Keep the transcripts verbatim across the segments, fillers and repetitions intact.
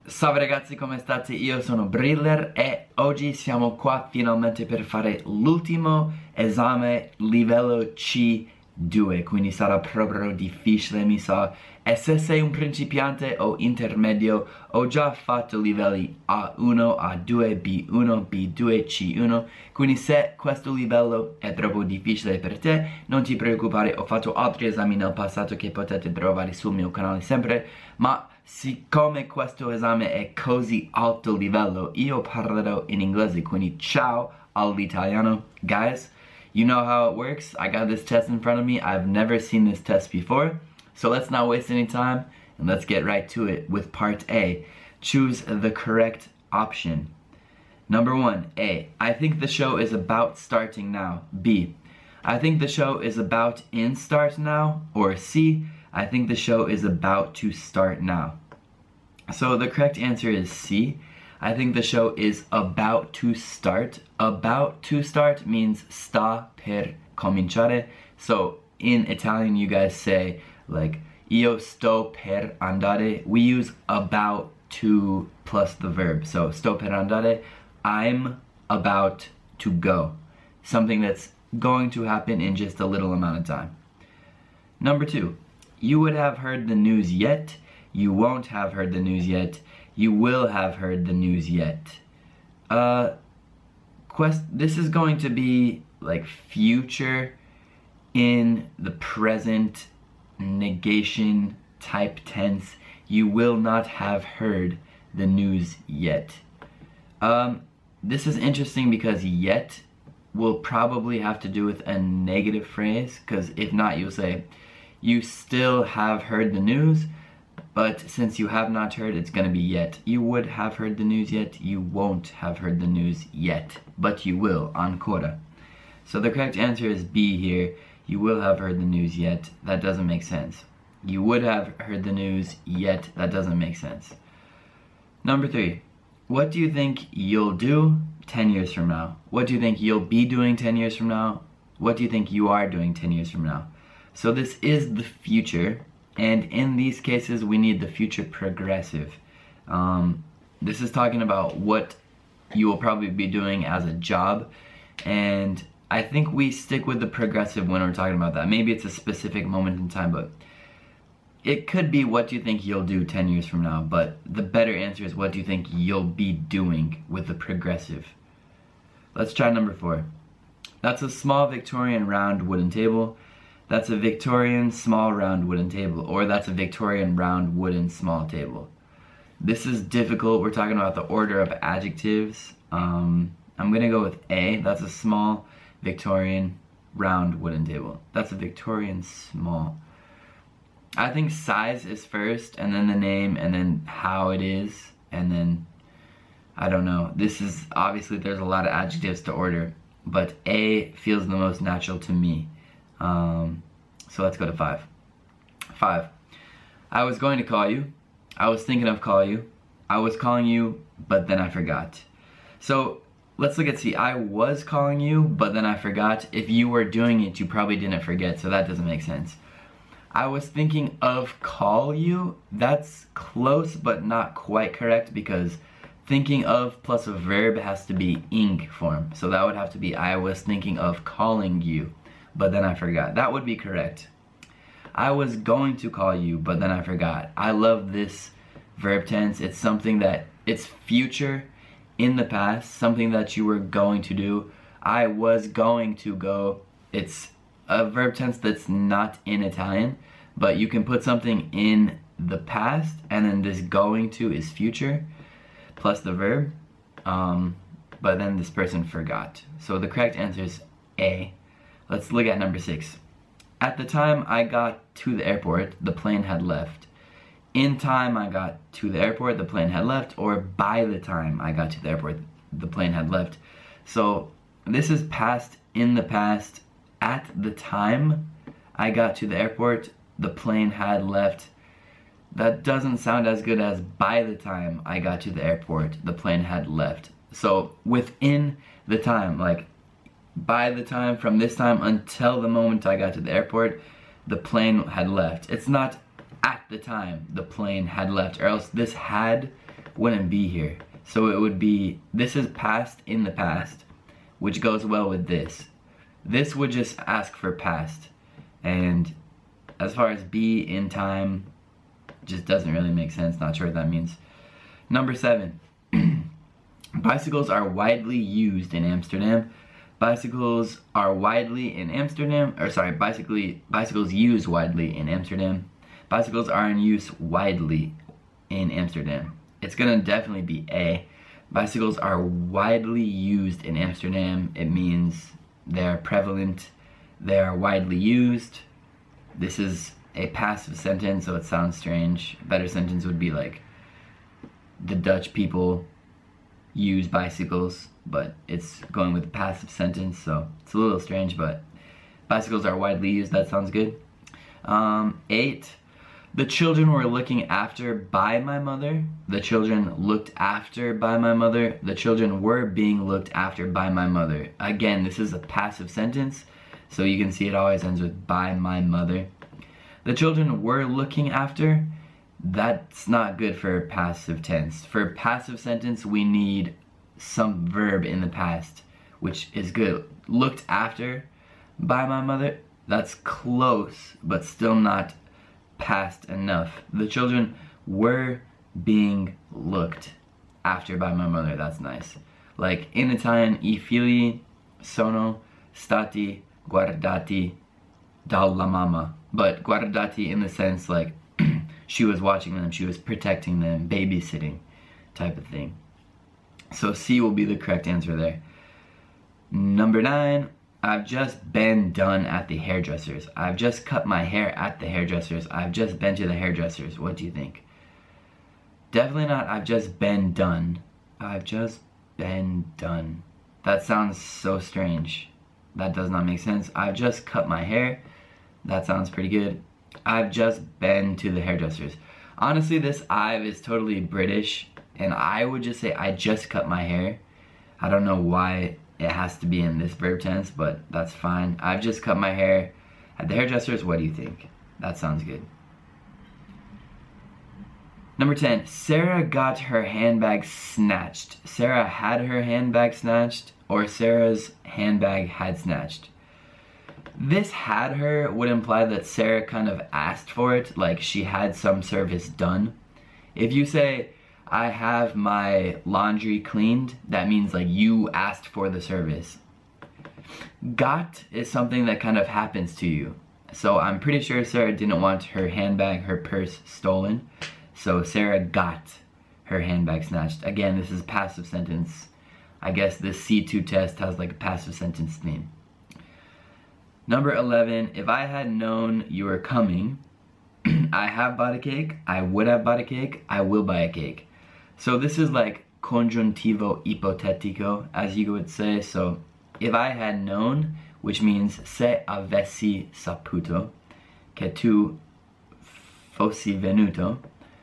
Salve ragazzi, come state? Io sono Briller e oggi siamo qua finalmente per fare l'ultimo esame livello C due, quindi sarà proprio difficile, mi sa. E se sei un principiante o intermedio, ho già fatto livelli A uno, A due, B uno, B due, C uno, quindi se questo livello è troppo difficile per te, non ti preoccupare, ho fatto altri esami nel passato che potete trovare sul mio canale sempre, ma siccome questo esame è così alto livello, io parlerò in inglese, quindi ciao all'italiano. Guys, you know how it works. I got this test in front of me. I've never seen this test before. So let's not waste any time and let's get right to it with part A. Choose the correct option. Number one, A. I think the show is about starting now. B. I think the show is about in start now. Or C. I think the show is about to start now. So the correct answer is C. I think the show is about to start. About to start means sta per cominciare. So in Italian you guys say like io sto per andare. We use about to plus the verb. So sto per andare, I'm about to go. Something that's going to happen in just a little amount of time. Number two. You would have heard the news yet. You won't have heard the news yet. You will have heard the news yet. Uh, quest. This is going to be like future in the present negation type tense. You will not have heard the news yet. Um, this is interesting because yet will probably have to do with a negative phrase, because if not, you'll say, you still have heard the news, but since you have not heard, it's gonna be yet. You would have heard the news yet, you won't have heard the news yet, but you will, ancora. So the correct answer is B here. You will have heard the news yet. That doesn't make sense. You would have heard the news yet. That doesn't make sense. Number three. What do you think you'll do ten years from now? What do you think you'll be doing ten years from now? What do you think you are doing ten years from now? So this is the future, and in these cases we need the future progressive. Um, this is talking about what you will probably be doing as a job, and I think we stick with the progressive when we're talking about that. Maybe it's a specific moment in time, but it could be what do you think you'll do ten years from now, but the better answer is what do you think you'll be doing with the progressive. Let's try number four. That's a small Victorian round wooden table. That's a Victorian small round wooden table, or that's a Victorian round wooden small table. This is difficult. We're talking about the order of adjectives. Um, I'm gonna go with A. That's a small Victorian round wooden table. That's a Victorian small. I think size is first, and then the name, and then how it is, and then, I don't know. This is, obviously there's a lot of adjectives to order, but A feels the most natural to me. Um, so let's go to five. Five. I was going to call you. I was thinking of calling you. I was calling you, but then I forgot. So let's look at C. I was calling you, but then I forgot. If you were doing it, you probably didn't forget, so that doesn't make sense. I was thinking of call you. That's close, but not quite correct, because thinking of plus a verb has to be ing form. So that would have to be I was thinking of calling you, but then I forgot. That would be correct. I was going to call you, but then I forgot. I love this verb tense. It's something that, it's future in the past, something that you were going to do. I was going to go. It's a verb tense that's not in Italian, but you can put something in the past, and then this going to is future, plus the verb, um, but then this person forgot. So the correct answer is A. Let's look at number six. At the time I got to the airport, the plane had left. In time I got to the airport, the plane had left, or by the time I got to the airport, the plane had left. So this is past in the past. At the time I got to the airport, the plane had left. That doesn't sound as good as by the time I got to the airport, the plane had left. So within the time, like by the time, from this time until the moment I got to the airport, the plane had left. It's not at the time the plane had left, or else this had wouldn't be here. So it would be, this is past in the past, which goes well with this. This would just ask for past. And as far as be in time, just doesn't really make sense. Not sure what that means. Number seven. Bicycles are widely used in Amsterdam. Bicycles are widely in Amsterdam, or sorry, bicycly, bicycles used widely in Amsterdam. Bicycles are in use widely in Amsterdam. It's gonna definitely be A. Bicycles are widely used in Amsterdam. It means they're prevalent, they are widely used. This is a passive sentence, so it sounds strange. A better sentence would be like, the Dutch people use bicycles, but it's going with the passive sentence, so it's a little strange, but bicycles are widely used. That sounds good. Um, eight, the children were looking after by my mother. The children looked after by my mother. The children were being looked after by my mother. Again, this is a passive sentence, so you can see it always ends with by my mother. The children were looking after. That's not good for passive tense. For passive sentence, we need some verb in the past, which is good. Looked after by my mother, that's close, but still not past enough. The children were being looked after by my mother. That's nice. Like in Italian, I figli sono stati guardati dalla mamma. But guardati in the sense like she was watching them, she was protecting them, babysitting type of thing. So C will be the correct answer there. Number nine, I've just been done at the hairdresser's. I've just cut my hair at the hairdresser's. I've just been to the hairdresser's. What do you think? Definitely not I've just been done. I've just been done. That sounds so strange. That does not make sense. I've just cut my hair. That sounds pretty good. I've just been to the hairdresser's. Honestly, this I've is totally British, and I would just say I just cut my hair. I don't know why it has to be in this verb tense, but that's fine. I've just cut my hair at the hairdresser's. What do you think? That sounds good. Number ten, Sarah got her handbag snatched. Sarah had her handbag snatched, or Sarah's handbag had snatched. This had her would imply that Sarah kind of asked for it, like she had some service done. If you say, I have my laundry cleaned, that means like you asked for the service. Got is something that kind of happens to you. So I'm pretty sure Sarah didn't want her handbag, her purse stolen. So Sarah got her handbag snatched. Again, this is a passive sentence. I guess this C two test has like a passive sentence theme. Number eleven, if I had known you were coming, I have bought a cake, I would have bought a cake, I will buy a cake. So this is like congiuntivo ipotetico, as you would say. So if I had known, which means se avessi saputo, che tu fossi venuto,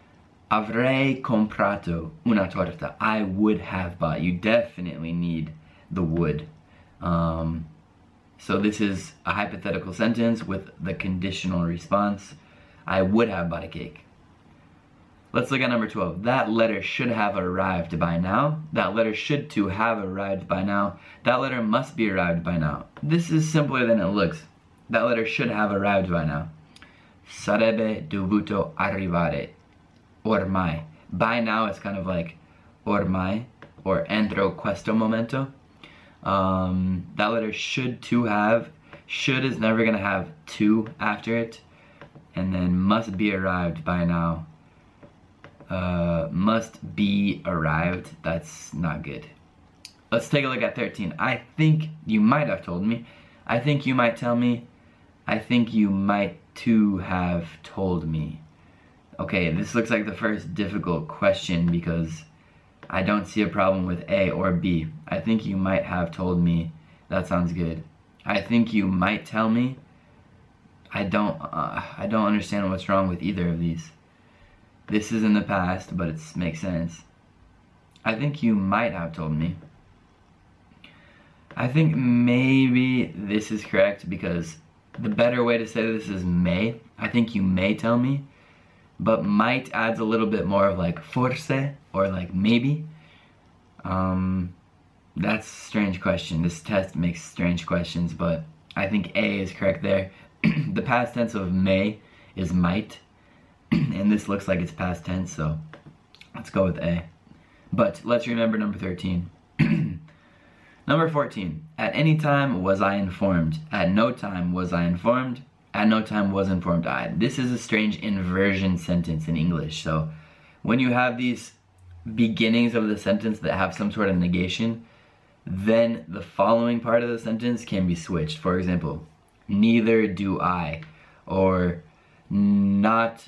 avrei comprato una torta. I would have bought. You definitely need the would. Um, so this is a hypothetical sentence with the conditional response. I would have bought a cake. Let's look at number twelve. That letter should have arrived by now. That letter should to have arrived by now. That letter must be arrived by now. This is simpler than it looks. That letter should have arrived by now. Sarebbe dovuto arrivare. Ormai. By now it's kind of like ormai or entro questo momento. Um, that letter should to have. Should is never going to have to after it. And then must be arrived by now. Uh, must be arrived. That's not good. Let's take a look at thirteen. I think you might have told me. I think you might tell me. I think you might to have told me. Okay, this looks like the first difficult question because I don't see a problem with A or B. I think you might have told me. That sounds good. I think you might tell me. I don't, uh, I don't understand what's wrong with either of these. This is in the past, but it makes sense. I think you might have told me. I think maybe this is correct because the better way to say this is may. I think you may tell me. but might adds a little bit more of like forse, or like maybe. Um, that's a strange question. This test makes strange questions, but I think A is correct there. The past tense of may is might, and this looks like it's past tense, so let's go with A. But let's remember number thirteen. Number fourteen, at any time was I informed. At no time was I informed. At no time was informed I. This is a strange inversion sentence in English. So when you have these beginnings of the sentence that have some sort of negation, then the following part of the sentence can be switched. For example, neither do I, or not,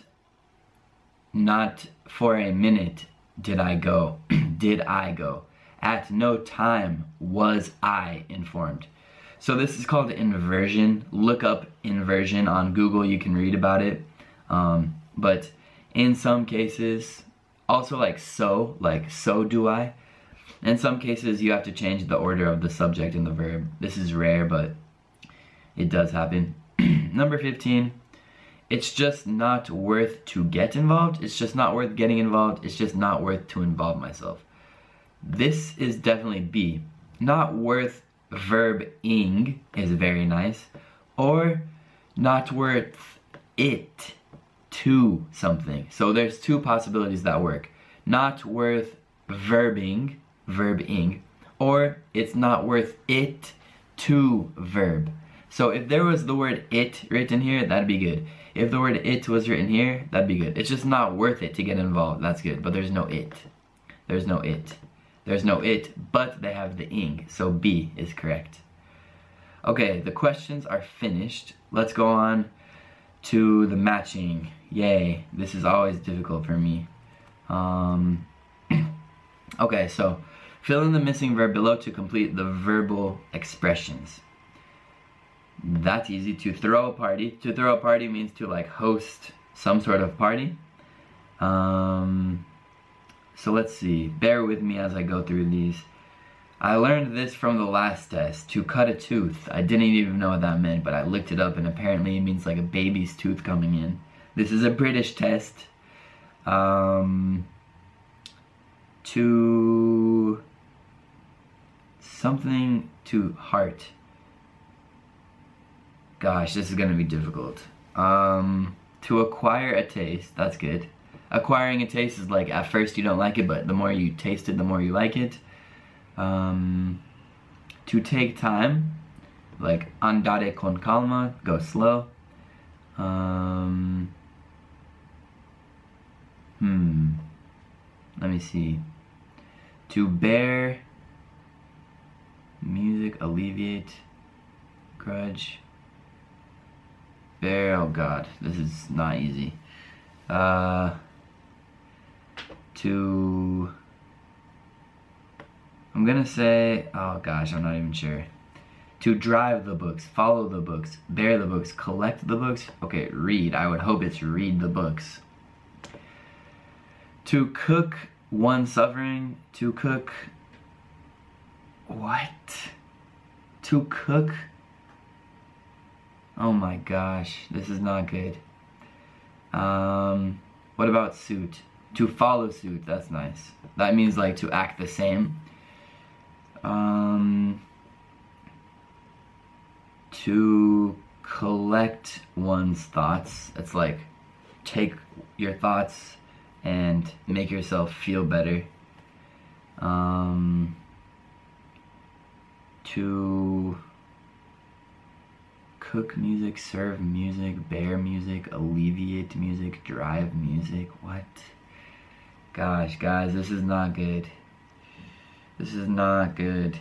not for a minute did I go, did I go. At no time was I informed. So this is called inversion. Look up inversion on Google, you can read about it. Um, but in some cases, also like so, like so do I. In some cases you have to change the order of the subject and the verb. This is rare, but it does happen. Number fifteen, it's just not worth to get involved. It's just not worth getting involved. It's just not worth to involve myself. This is definitely B. Not worth verb ing is very nice. Or not worth it to something. So there's two possibilities that work. Not worth verbing, verb ing, or it's not worth it to verb. So if there was the word it written here, that'd be good. If the word it was written here, that'd be good. It's just not worth it to get involved. That's good, but there's no it. There's no it. There's no it, but they have the ing, so B is correct. Okay, the questions are finished. Let's go on to the matching. Yay, this is always difficult for me. Um, okay, so fill in the missing verb below to complete the verbal expressions. That's easy. To throw a party. To throw a party means to like host some sort of party. Um... So let's see, bear with me as I go through these. I learned this from the last test, to cut a tooth. I didn't even know what that meant, but I looked it up and apparently it means like a baby's tooth coming in. This is a British test. Um, to something to heart. Gosh, this is gonna be difficult. Um, to acquire a taste, that's good. Acquiring a taste is like, at first you don't like it, but the more you taste it, the more you like it. Um, to take time, like andare con calma, go slow. Um, hmm, let me see. To bear, music, alleviate, grudge. Bear, oh god, this is not easy. Uh... To, I'm gonna say, oh gosh, I'm not even sure. To drive the books, follow the books, bear the books, collect the books. Okay, read. I would hope it's read the books. To cook one suffering, to cook, what? To cook, oh my gosh, this is not good. Um, what about suit? To follow suit, that's nice. That means like to act the same. Um, to collect one's thoughts. It's like take your thoughts and make yourself feel better. Um, to cook music, serve music, bear music, alleviate music, drive music. What? Gosh, guys, this is not good. This is not good.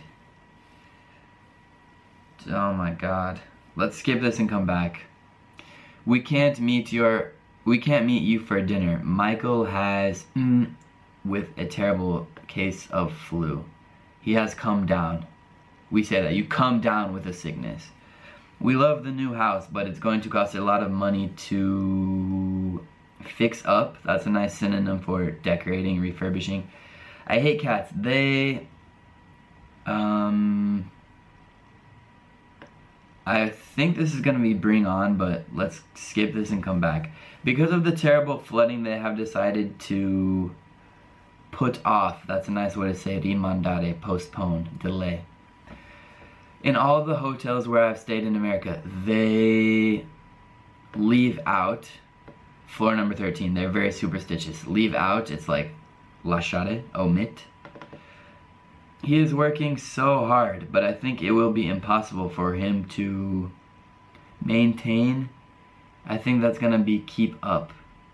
Oh my god. Let's skip this and come back. We can't meet your we can't meet you for dinner. Michael has mm, with a terrible case of flu. He has come down. We say that you come down with a sickness. We love the new house, but it's going to cost a lot of money to fix up. That's a nice synonym for decorating, refurbishing. I hate cats. They um I think this is gonna be Bring On, but let's skip this and come back. Because of the terrible flooding, they have decided to put off, that's a nice way to say rimandare, postpone, delay. In all the hotels where I've stayed in America, they leave out floor number thirteen. They're very superstitious. Leave out, it's like lasciare, omit. He is working so hard, but I think it will be impossible for him to maintain. I think that's gonna be keep up.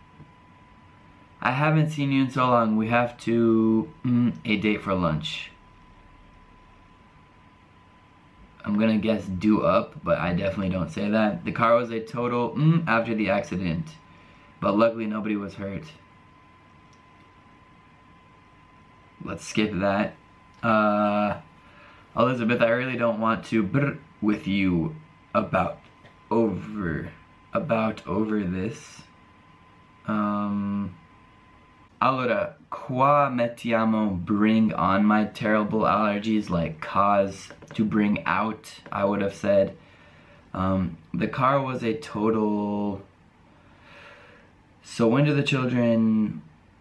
I haven't seen you in so long. We have to mm, a date for lunch. I'm gonna guess do up, but I definitely don't say that. The car was a total mm, after the accident, but luckily nobody was hurt. Let's skip that. Uh, Elizabeth, I really don't want to brr with you about over about over this. Um. Allora, qua mettiamo bring on my terrible allergies, like cause, to bring out, I would have said. Um, the car was a total... So when do the children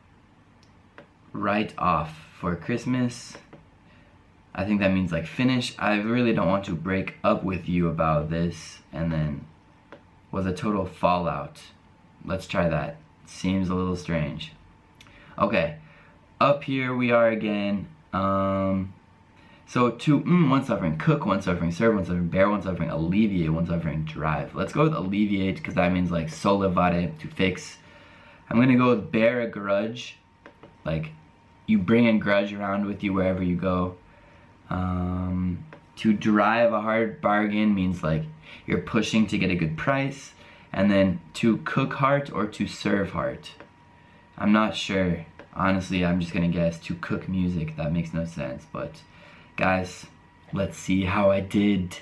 write off for Christmas? I think that means like finish. I really don't want to break up with you about this. And then was a total fallout. Let's try that. Seems a little strange. Okay, up here we are again. Um, so to mm, one suffering, cook one suffering, serve one suffering, bear one suffering, alleviate one suffering, drive. Let's go with alleviate because that means like sollevare, to fix. I'm gonna go with bear a grudge, like you bring a grudge around with you wherever you go. Um, to drive a hard bargain means like you're pushing to get a good price. And then to cook heart or to serve heart. I'm not sure. Honestly, I'm just gonna guess to cook music. That makes no sense. But guys, let's see how I did.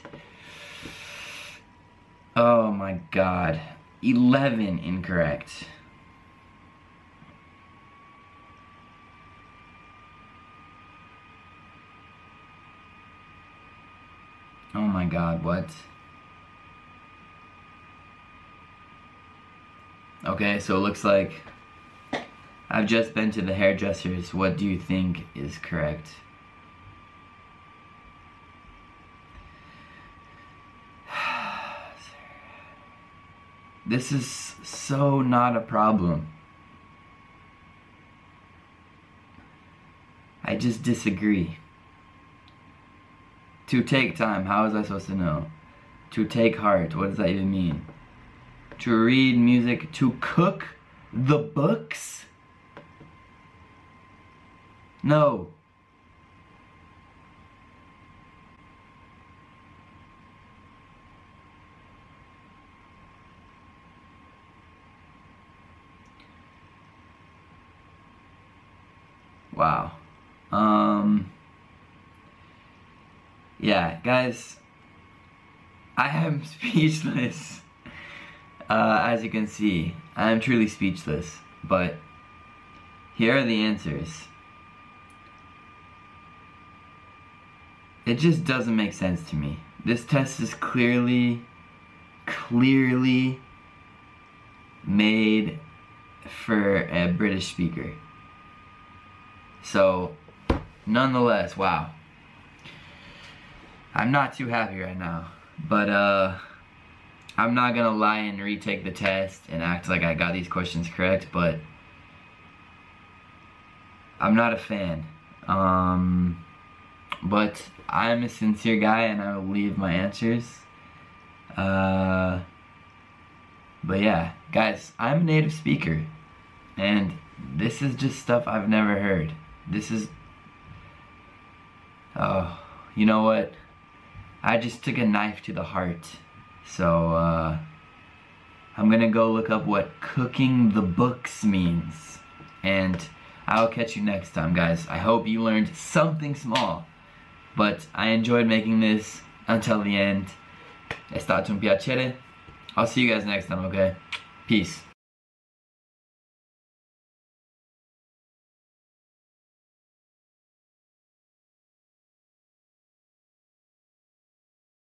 Oh my god. eleven incorrect. Oh my god, what? Okay, so it looks like I've just been to the hairdressers. What do you think is correct? This is so not a problem. I just disagree. To take time, how is I supposed to know? To take heart, what does that even mean? To read music, to cook the books? No. Wow. Um, yeah, guys, I am speechless. Uh, as you can see, I am truly speechless, but here are the answers. It just doesn't make sense to me. This test is clearly, clearly made for a British speaker. So, nonetheless, wow. I'm not too happy right now, but uh, I'm not gonna lie and retake the test and act like I got these questions correct, but I'm not a fan. Um, but I'm a sincere guy and I will leave my answers. Uh, but yeah, guys, I'm a native speaker and this is just stuff I've never heard. This is, oh, you know what? I just took a knife to the heart. So, uh, I'm gonna go look up what cooking the books means. And I'll catch you next time, guys. I hope you learned something small. But I enjoyed making this until the end. È stato un piacere. I'll see you guys next time, okay? Peace.